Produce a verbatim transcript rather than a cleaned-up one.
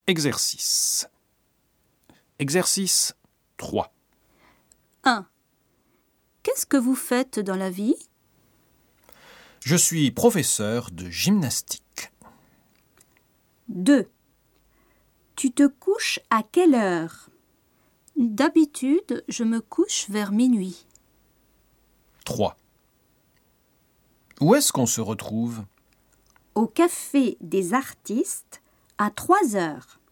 Exercice. Exercice trois. un. Qu'est-ce que vous faites dans la vie? Je suis professeur de gymnastique. deux. Tu te couches à quelle heure? D'habitude, je me couche vers minuit. trois. Où est-ce qu'on se retrouve? Au café des artistes à trois heures.